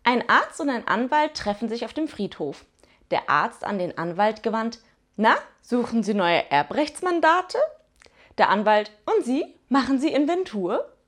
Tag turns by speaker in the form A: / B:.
A: Ein Arzt und ein Anwalt treffen sich auf dem Friedhof. Der Arzt an den Anwalt gewandt: Na, suchen Sie neue Erbrechtsmandate? Der Anwalt: Und Sie, machen Sie Inventur?